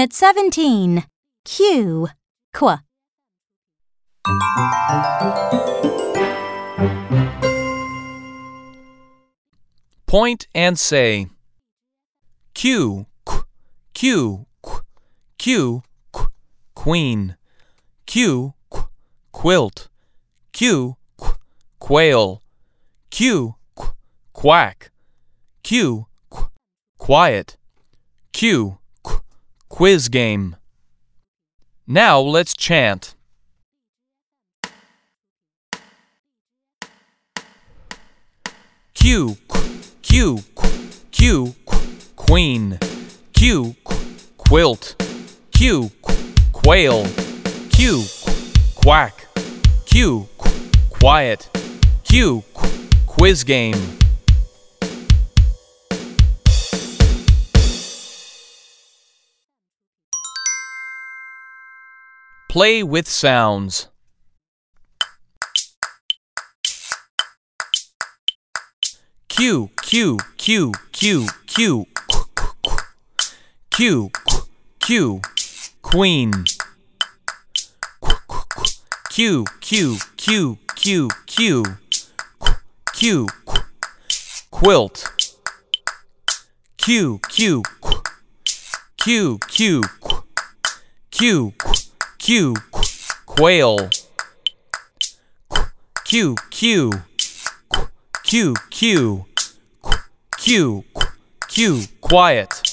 Unit 17. Q. Qu. Point and say Q, qu, Q, qu, Q, qu, queen, Q, qu, quilt, Q, qu, quail, Q, qu, quack, Q, qu, quiet, Q, qu, quiz game. Now let's chant. Q, qu, Q, qu, Q, qu, queen, Q, qu, quilt, Q, qu, quail, Q, qu, quack, Q, qu, quiet, Q, qu, quiz game. Play with sounds. Q, Q, Q, Q, Q, qu, qu, qu. Q, qu, Q, queen. Qu, qu, qu. Q, Q, Q, Q, Q, qu, Q, qu, quilt. Q, Q, qu, Q, Q, qu, Q, qu, Q, qu, quail. Q, Q, Q, Q, Q, Q, Q, quiet.